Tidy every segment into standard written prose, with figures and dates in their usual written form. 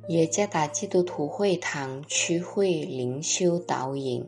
耶加达基督徒会堂区会灵修导引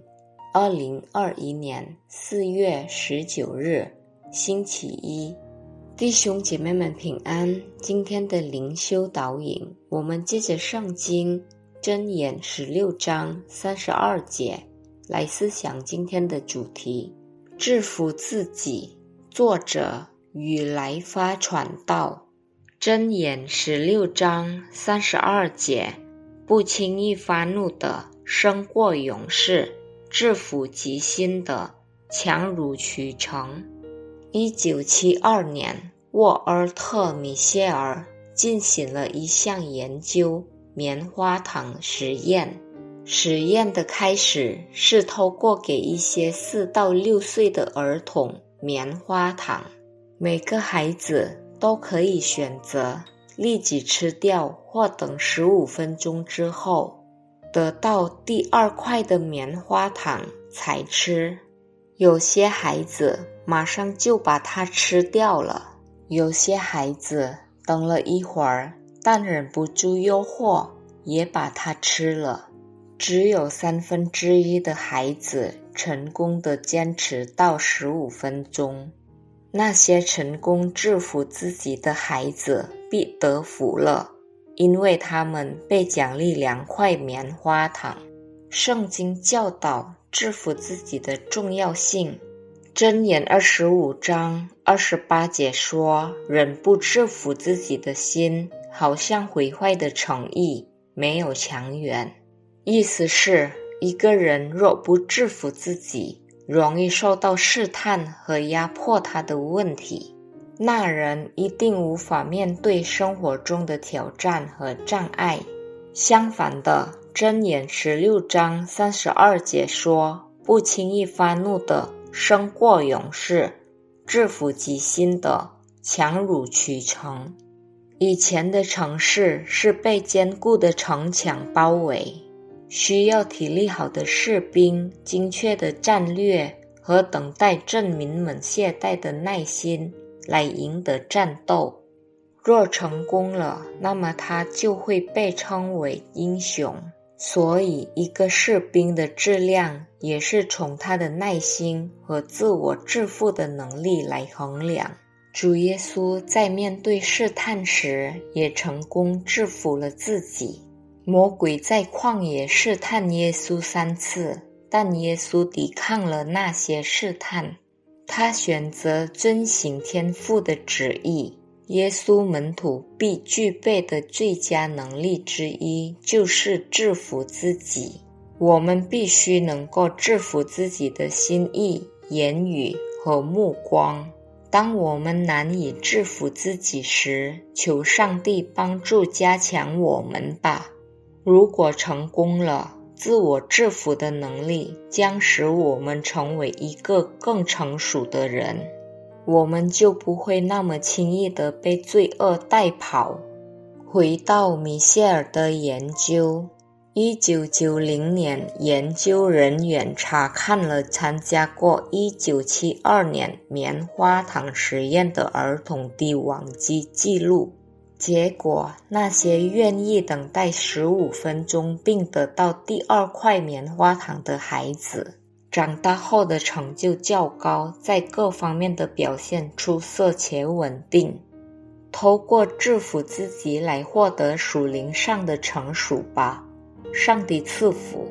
2021年4月19日星期一，弟兄姐妹们平安。今天的灵修导引，我们借着圣经箴言16章32节来思想今天的主题，制服自己。作者与来发传道。箴言16章32节，不轻易发怒的胜过勇士，制服己心的强如取成。1972年，沃尔特·米歇尔进行了一项研究棉花糖实验。实验的开始是透过给一些4到6岁的儿童棉花糖，每个孩子都可以选择立即吃掉或等15分钟之后得到第2块的棉花糖才吃。有些孩子马上就把它吃掉了，有些孩子等了一会儿，但忍不住诱惑也把它吃了。只有1/3的孩子成功地坚持到15分钟。那些成功制服自己的孩子必得福了，因为他们被奖励2块棉花糖。圣经教导制服自己的重要性。箴言25章28节说，人不制服自己的心，好像毁坏的城邑，没有强援。意思是，一个人若不制服自己，容易受到试探和压迫他的问题，那人一定无法面对生活中的挑战和障碍。相反的，箴言16章32节说，不轻易发怒的胜过勇士，制服己心的强如取成。以前的城市是被坚固的城墙包围，需要体力好的士兵、精确的战略和等待镇民们懈怠的耐心来赢得战斗。若成功了，那么他就会被称为英雄。所以一个士兵的质量也是从他的耐心和自我致富的能力来衡量。主耶稣在面对试探时也成功制服了自己。魔鬼在旷野试探耶稣3次，但耶稣抵抗了那些试探。他选择遵行天父的旨意。耶稣门徒必具备的最佳能力之一就是制服自己。我们必须能够制服自己的心意、言语和目光。当我们难以制服自己时，求上帝帮助加强我们吧。如果成功了，自我制服的能力将使我们成为一个更成熟的人，我们就不会那么轻易地被罪恶带跑。回到米歇尔的研究，1990年，研究人员查看了参加过1972年棉花糖实验的儿童的网际记录。结果，那些愿意等待15分钟并得到第2块棉花糖的孩子，长大后的成就较高，在各方面的表现出色且稳定。透过制服自己来获得属灵上的成熟吧。上帝赐福。